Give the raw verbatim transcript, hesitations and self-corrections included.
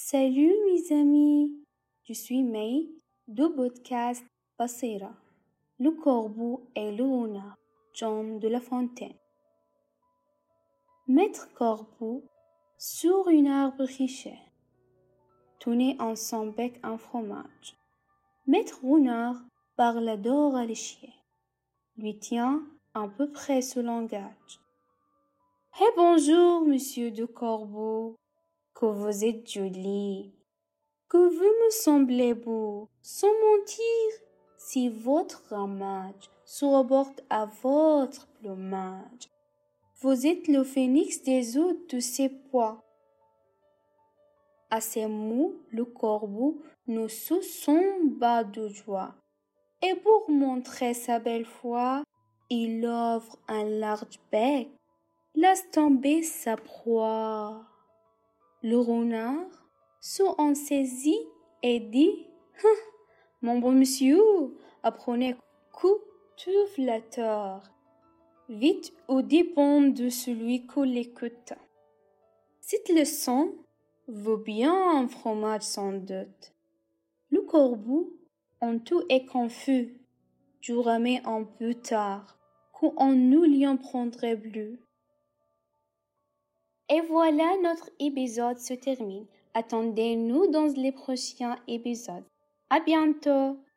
Salut mes amis, je suis May du podcast Basira, le corbeau et le renard, John de La Fontaine. Maître Corbeau, sur un arbre riche, tenait en son bec un fromage. Maître Renard parle d'or à l'échier, lui tient à peu près ce langage. Eh bonjour, monsieur de Corbeau, que vous êtes joli, que vous me semblez beau, sans mentir, si votre ramage se rapporte à votre plumage. Vous êtes le phénix des eaux de ces bois. À ces mots, le corbeau ne se sent bas de joie, et pour montrer sa belle foi, il offre un large bec, laisse tomber sa proie. Le renard se en saisit et dit « Mon bon monsieur, apprenez que tout flatteur, vite au dépend de celui que l'écoute. Cette leçon vaut bien un fromage sans doute. » Le corbeau, en tout est confus, je remets un peu tard, qu'en nous lion prendrait bleu. Et voilà, notre épisode se termine. Attendez-nous dans les prochains épisodes. À bientôt!